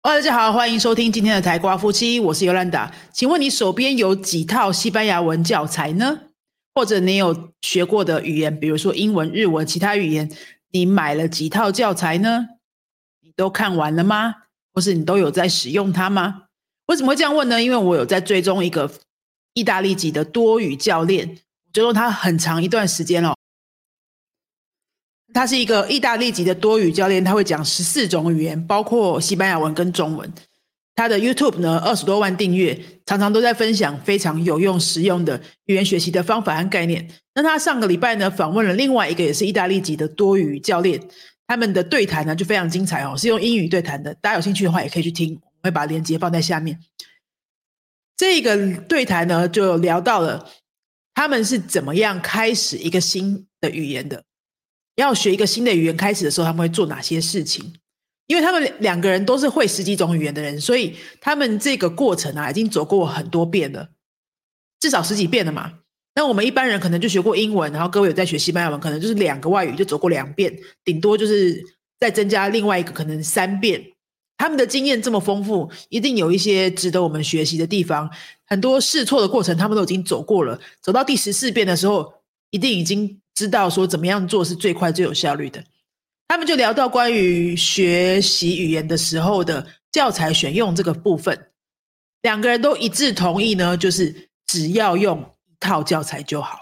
大家好，欢迎收听今天的台瓜夫妻，我是尤兰达。请问你手边有几套西班牙文教材呢？或者你有学过的语言，比如说英文、日文、其他语言，你买了几套教材呢？你都看完了吗？或是你都有在使用它吗？为什么会这样问呢？因为我有在追踪一个意大利籍的多语教练，追踪他很长一段时间了。他是一个意大利籍的多语教练，他会讲14种语言，包括西班牙文跟中文。他的 YouTube 呢20多万订阅，常常都在分享非常有用实用的语言学习的方法和概念。那他上个礼拜呢访问了另外一个也是意大利籍的多语教练，他们的对谈呢就非常精彩哦，是用英语对谈的，大家有兴趣的话也可以去听，我会把链接放在下面。这个对谈呢就聊到了他们是怎么样开始一个新的语言的，要学一个新的语言开始的时候他们会做哪些事情。因为他们两个人都是会10几种语言的人，所以他们这个过程已经走过很多遍了，至少10几遍了嘛。那我们一般人可能就学过英文，然后各位有在学西班牙文，可能就是2个外语就走过2遍，顶多就是再增加另外一个可能3遍。他们的经验这么丰富，一定有一些值得我们学习的地方，很多试错的过程他们都已经走过了，走到第14遍的时候一定已经知道说怎么样做是最快最有效率的。他们就聊到关于学习语言的时候的教材选用这个部分，两个人都一致同意呢，就是只要用一套教材就好。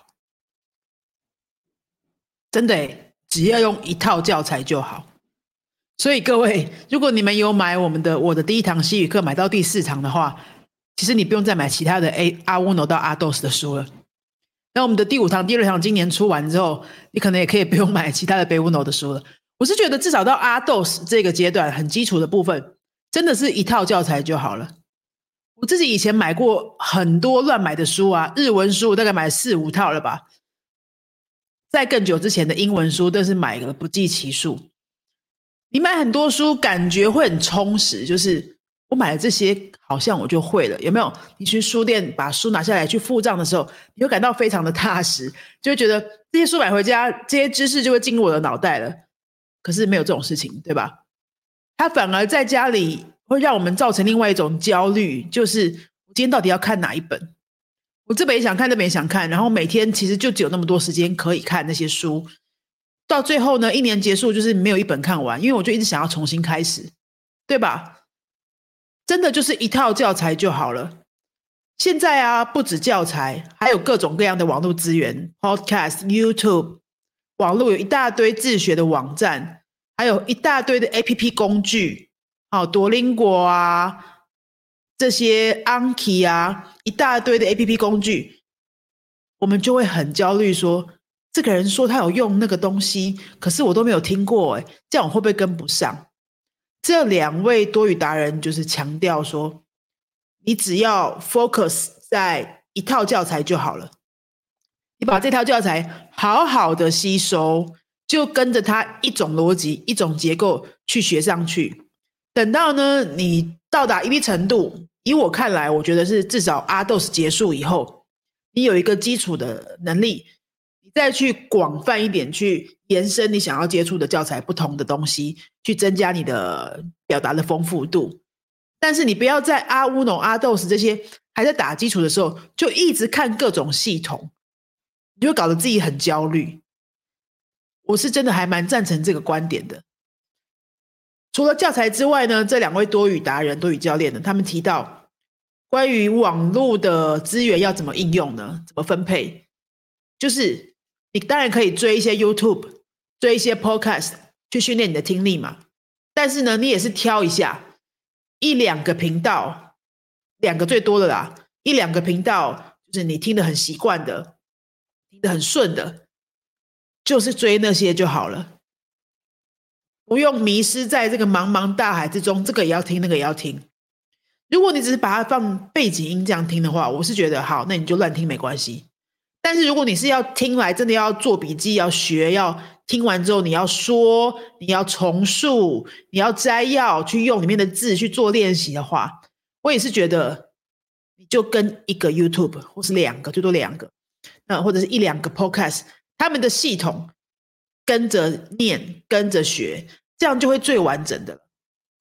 真的耶，只要用一套教材就好。所以各位，如果你们有买我的第一堂西语课买到第4堂的话，其实你不用再买其他的阿乌诺到阿豆斯的书了。那我们的第5堂、第6堂今年出完之后，你可能也可以不用买其他的贝乌诺的书了。我是觉得至少到阿豆斯这个阶段很基础的部分，真的是一套教材就好了。我自己以前买过很多乱买的书啊，日文书我大概买4、5套了吧。在更久之前的英文书都是买了不计其数。你买很多书感觉会很充实，就是我买了这些好像我就会了，有没有？你去书店把书拿下来去付账的时候，你会感到非常的踏实，就会觉得这些书买回家，这些知识就会进入我的脑袋了。可是没有这种事情，对吧？它反而在家里会让我们造成另外一种焦虑，就是我今天到底要看哪一本？我这本也想看，那本也想看，然后每天其实就只有那么多时间可以看那些书。到最后呢，1年结束就是没有一本看完，因为我就一直想要重新开始，对吧？真的就是一套教材就好了。现在不止教材，还有各种各样的网络资源 ，Podcast、YouTube， 网络有一大堆自学的网站，还有一大堆的 APP 工具，多邻国这些 Anki 一大堆的 APP 工具，我们就会很焦虑说，这个人说他有用那个东西，可是我都没有听过，这样我会不会跟不上？这2位多语达人就是强调说，你只要 focus 在一套教材就好了，你把这套教材好好的吸收，就跟着它一种逻辑、一种结构去学上去。等到呢你到达一定程度，以我看来，我觉得是至少阿豆斯结束以后，你有一个基础的能力，你再去广泛一点去延伸你想要接触的教材不同的东西，去增加你的表达的丰富度。但是你不要在阿乌诺、阿豆斯这些还在打基础的时候，就一直看各种系统，你就搞得自己很焦虑。我是真的还蛮赞成这个观点的。除了教材之外呢，这2位多语达人、多语教练呢，他们提到关于网络的资源要怎么应用呢？怎么分配？就是你当然可以追一些 YouTube， 追一些 Podcast 去训练你的听力嘛。但是呢，你也是挑一下1、2个频道，2个最多的啦，1、2个频道就是你听得很习惯的，听得很顺的，就是追那些就好了。不用迷失在这个茫茫大海之中，这个也要听，那个也要听。如果你只是把它放背景音这样听的话，我是觉得好，那你就乱听没关系。但是如果你是要听来真的要做笔记，要学，要听完之后你要说，你要重述，你要摘要，去用里面的字去做练习的话，我也是觉得你就跟一个 YouTube 或是2个，最多2个，或者是1、2个 Podcast， 他们的系统跟着念，跟着学，这样就会最完整的了。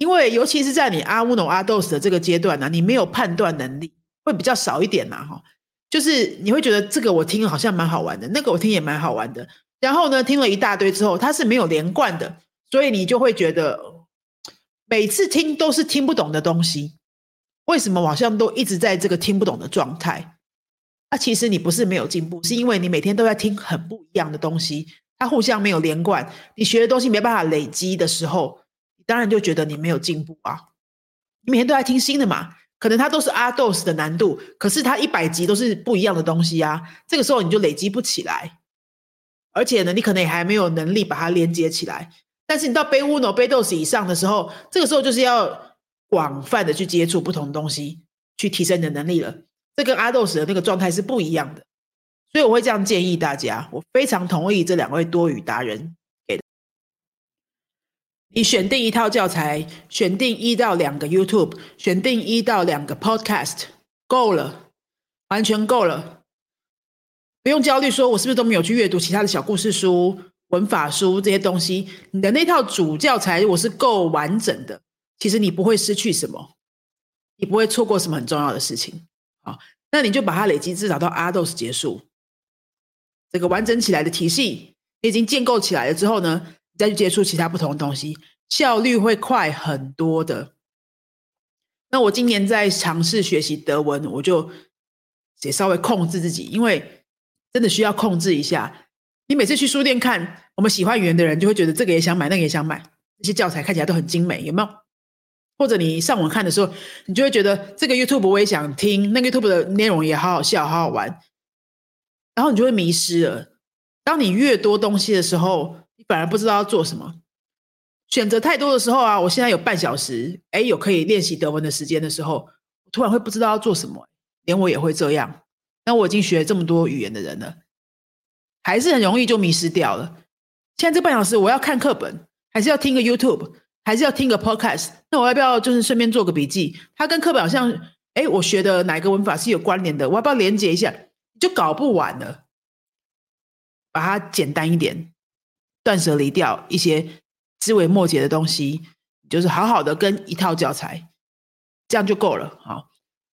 因为尤其是在你阿乌诺阿豆斯的这个阶段呢，你没有判断能力，会比较少一点啦哈。就是你会觉得这个我听好像蛮好玩的，那个我听也蛮好玩的，然后呢听了一大堆之后，它是没有连贯的，所以你就会觉得每次听都是听不懂的东西。为什么我好像都一直在这个听不懂的状态？其实你不是没有进步，是因为你每天都在听很不一样的东西，它互相没有连贯，你学的东西没办法累积的时候，你当然就觉得你没有进步啊。你每天都在听新的嘛，可能它都是阿斗斯的难度，可是它100集都是不一样的东西啊，这个时候你就累积不起来，而且呢，你可能也还没有能力把它连接起来。但是你到杯乌诺、杯斗斯以上的时候，这个时候就是要广泛的去接触不同的东西，去提升你的能力了。这跟阿斗斯的那个状态是不一样的，所以我会这样建议大家。我非常同意这2位多语达人给的。你选定一套教材，选定1到2个 YouTube， 选定1到2个 Podcast， 够了，完全够了。不用焦虑说我是不是都没有去阅读其他的小故事书、文法书这些东西。你的那套主教材如果是够完整的，其实你不会失去什么，你不会错过什么很重要的事情。好，那你就把它累积至少到阿斗斯结束，这个完整起来的体系你已经建构起来了之后呢，你再去接触其他不同的东西，效率会快很多的。那我今年在尝试学习德文，我就也稍微控制自己，因为真的需要控制一下。你每次去书店看我们喜欢语言的人，就会觉得这个也想买，那个也想买，这些教材看起来都很精美，有没有？或者你上网看的时候，你就会觉得这个 YouTube 我也想听，那个 YouTube 的内容也好好笑，好好玩，然后你就会迷失了。当你越多东西的时候，你反而不知道要做什么。选择太多的时候啊，我现在有半小时，有可以练习德文的时间的时候，我突然会不知道要做什么，连我也会这样。那我已经学了这么多语言的人了，还是很容易就迷失掉了。现在这半小时我要看课本，还是要听个 YouTube， 还是要听个 Podcast？ 那我要不要就是顺便做个笔记？它跟课本好像，我学的哪个文法是有关联的？我要不要连接一下？就搞不完了。把它简单一点，断舍离掉一些枝微末节的东西，就是好好的跟一套教材，这样就够了。好，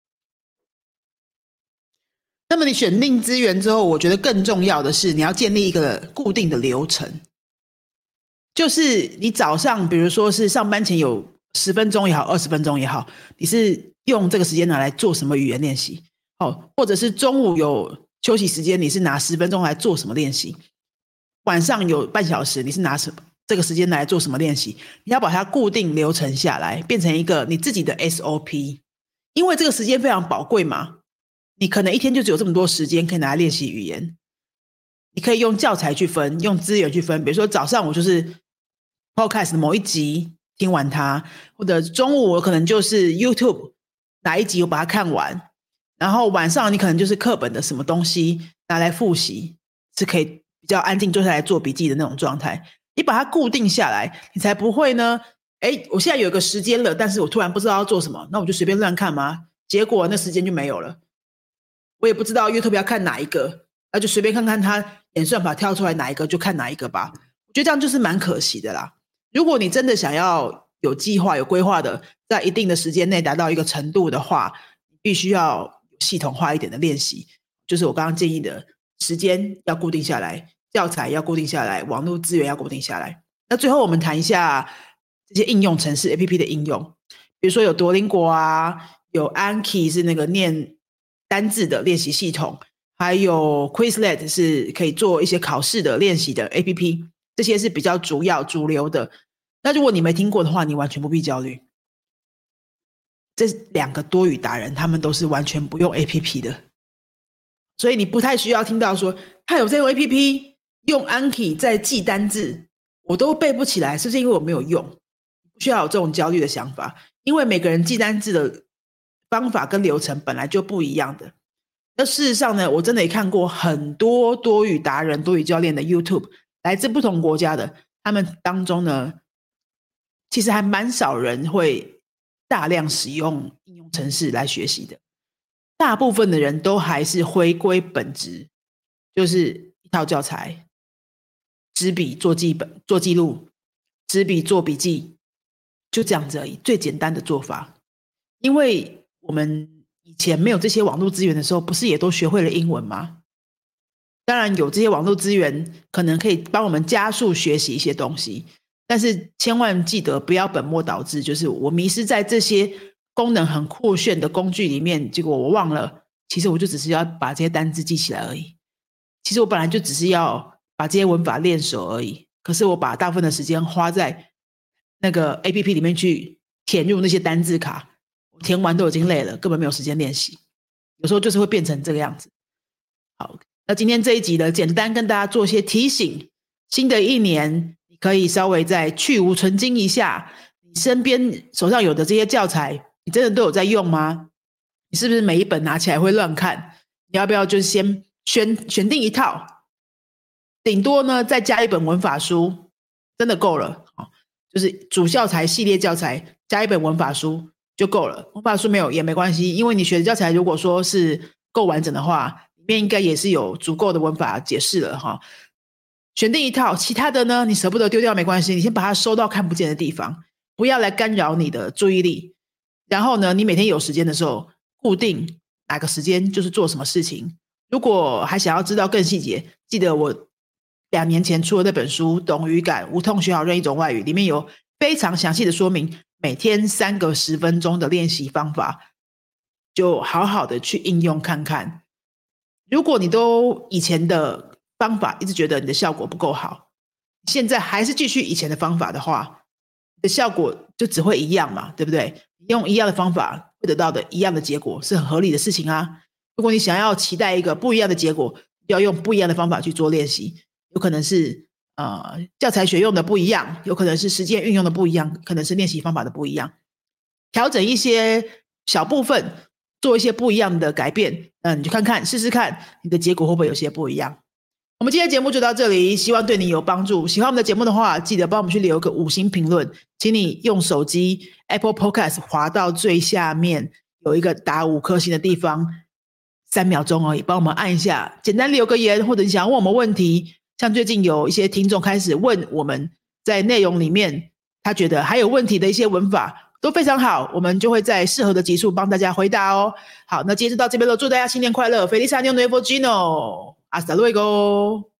那么你选定资源之后，我觉得更重要的是你要建立一个固定的流程，就是你早上比如说是上班前有10分钟也好，20分钟也好，你是用这个时间拿来做什么语言练习？或者是中午有休息时间，你是拿10分钟来做什么练习？晚上有半小时，你是拿这个时间来做什么练习？你要把它固定流程下来，变成一个你自己的 SOP。因为这个时间非常宝贵嘛，你可能一天就只有这么多时间可以拿来练习语言。你可以用教材去分，用资源去分。比如说早上我就是 Podcast 的某一集听完它，或者中午我可能就是 YouTube 哪一集我把它看完，然后晚上你可能就是课本的什么东西拿来复习，是可以比较安静坐下来做笔记的那种状态。你把它固定下来，你才不会呢我现在有一个时间了，但是我突然不知道要做什么，那我就随便乱看吗？结果那时间就没有了。我也不知道 YouTube 要看哪一个，那就随便看看它演算法跳出来哪一个就看哪一个吧。我觉得这样就是蛮可惜的啦。如果你真的想要有计划有规划的，在一定的时间内达到一个程度的话，必须要系统化一点的练习，就是我刚刚建议的时间要固定下来，教材要固定下来，网络资源要固定下来。那最后我们谈一下这些应用程式 APP 的应用，比如说有多邻国啊，有 Anki 是那个念单字的练习系统，还有 Quizlet 是可以做一些考试的练习的 APP， 这些是比较主流的。那如果你没听过的话，你完全不必焦虑。这2个多语达人他们都是完全不用 APP 的，所以你不太需要听到说他有在用 APP 用 Anki 在记单字，我都背不起来，是不是因为我没有用？不需要有这种焦虑的想法，因为每个人记单字的方法跟流程本来就不一样的。那事实上呢，我真的也看过很多多语达人、多语教练的 YouTube， 来自不同国家的，他们当中呢，其实还蛮少人会大量使用应用程式来学习的。大部分的人都还是回归本质，就是一套教材，纸笔做记录，纸笔做笔记， 就这样子而已，最简单的做法。因为我们以前没有这些网络资源的时候，不是也都学会了英文吗？当然有这些网络资源可能可以帮我们加速学习一些东西，但是千万记得不要本末倒置，就是我迷失在这些功能很酷炫的工具里面，结果我忘了，其实我就只是要把这些单字记起来而已。其实我本来就只是要把这些文法练熟而已，可是我把大部分的时间花在那个 APP 里面去填入那些单字卡，我填完都已经累了，根本没有时间练习。有时候就是会变成这个样子。好，那今天这一集呢，简单跟大家做些提醒。新的一年，你可以稍微再去无存菁一下，你身边手上有的这些教材，你真的都有在用吗？你是不是每一本拿起来会乱看？你要不要就先选定一套，顶多呢再加一本文法书，真的够了。就是主教材系列教材加一本文法书就够了。文法书没有也没关系，因为你学的教材如果说是够完整的话，里面应该也是有足够的文法解释了哈。选定一套，其他的呢你舍不得丢掉没关系，你先把它收到看不见的地方，不要来干扰你的注意力。然后呢，你每天有时间的时候，固定哪个时间就是做什么事情。如果还想要知道更细节，记得我2年前出的那本书《懂语感，无痛学好任一种外语》，里面有非常详细的说明每天3个10分钟的练习方法，就好好的去应用看看。如果你都以前的方法一直觉得你的效果不够好，现在还是继续以前的方法的话，你的效果就只会一样嘛，对不对？用一样的方法会得到的一样的结果是很合理的事情啊。如果你想要期待一个不一样的结果，要用不一样的方法去做练习，有可能是教材学用的不一样，有可能是实践运用的不一样，可能是练习方法的不一样，调整一些小部分，做一些不一样的改变，你就看看试试看你的结果会不会有些不一样。我们今天的节目就到这里，希望对你有帮助。喜欢我们的节目的话，记得帮我们去留个5星评论，请你用手机 Apple Podcast 滑到最下面有一个打5颗星的地方，3秒钟而已，帮我们按一下，简单留个言，或者你想要问我们问题，像最近有一些听众开始问我们在内容里面他觉得还有问题的一些文法都非常好，我们就会在适合的集数帮大家回答哦。好，那今天就到这边了，祝大家新年快乐， Feliz Año Nuevo Gino， Hasta luego。